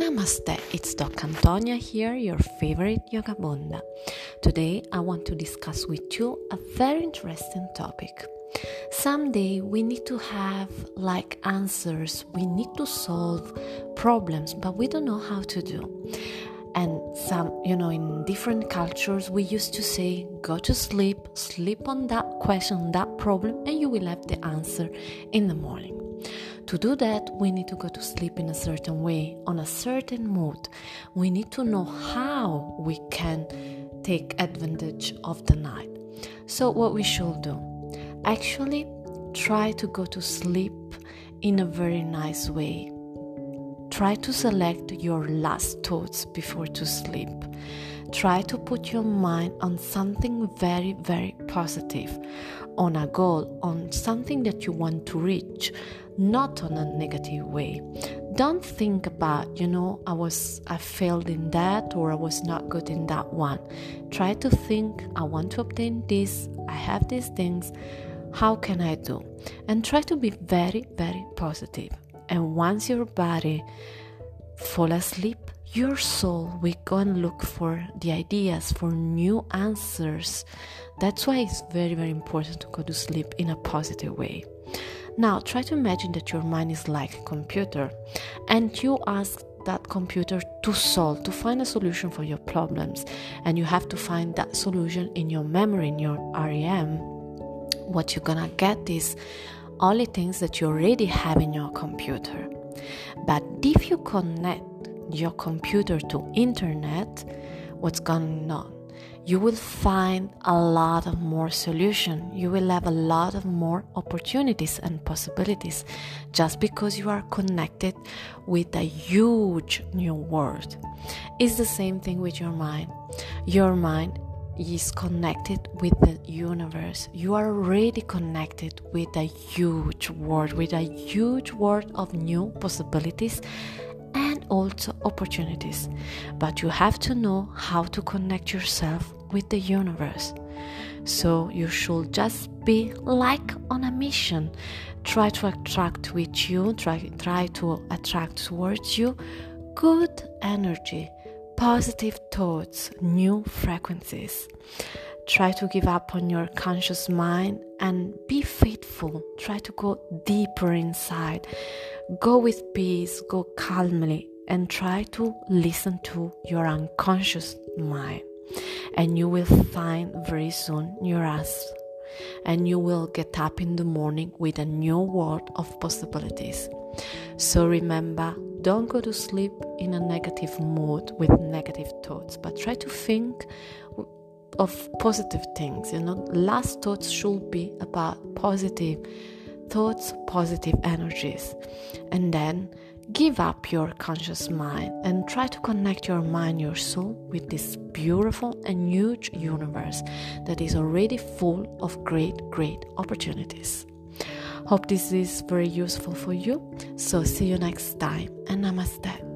Namaste, it's Doc Antonia here, your favorite yoga Bunda. Today I want to discuss with you a very interesting topic. Someday we need to have answers, we need to solve problems, but we don't know how to do. And in different cultures we used to say, go to sleep on that question, that problem, and you will have the answer in the morning. To do that, we need to go to sleep in a certain way, on a certain mood. We need to know how we can take advantage of the night. So what we should do? Actually, try to go to sleep in a very nice way. Try to select your last thoughts before to sleep. Try to put your mind on something very, very positive, on a goal, on something that you want to reach, not on a negative way. Don't think about, I failed in that or I was not good in that one. Try to think, I want to obtain this, I have these things, how can I do? And try to be very, very positive. And once your body fall asleep, your soul will go and look for the ideas, for new answers. That's why it's very, very important to go to sleep in a positive way. Now, try to imagine that your mind is like a computer and you ask that computer to find a solution for your problems. And you have to find that solution in your memory, in your REM. What you're gonna get is only things that you already have in your computer. But if you connect your computer to internet, what's going on? You will find a lot of more solutions. You will have a lot of more opportunities and possibilities just because you are connected with a huge new world. It's the same thing with your mind. Your mind is connected with the universe. You are already connected with a huge world of new possibilities and also opportunities. But you have to know how to connect yourself with the universe. So you should just be like on a mission. Try to attract with you, try to attract towards you good energy, positive thoughts, new frequencies. Try to give up on your conscious mind and be faithful. Try to go deeper inside. Go with peace, go calmly, and try to listen to your unconscious mind. And you will find very soon your answer. And you will get up in the morning with a new world of possibilities. So remember, don't go to sleep in a negative mood with negative thoughts, but try to think of positive things. Last thoughts should be about positive thoughts, positive energies. And then give up your conscious mind and try to connect your mind, your soul with this beautiful and huge universe that is already full of great, great opportunities. Hope this is very useful for you. So see you next time, and namaste.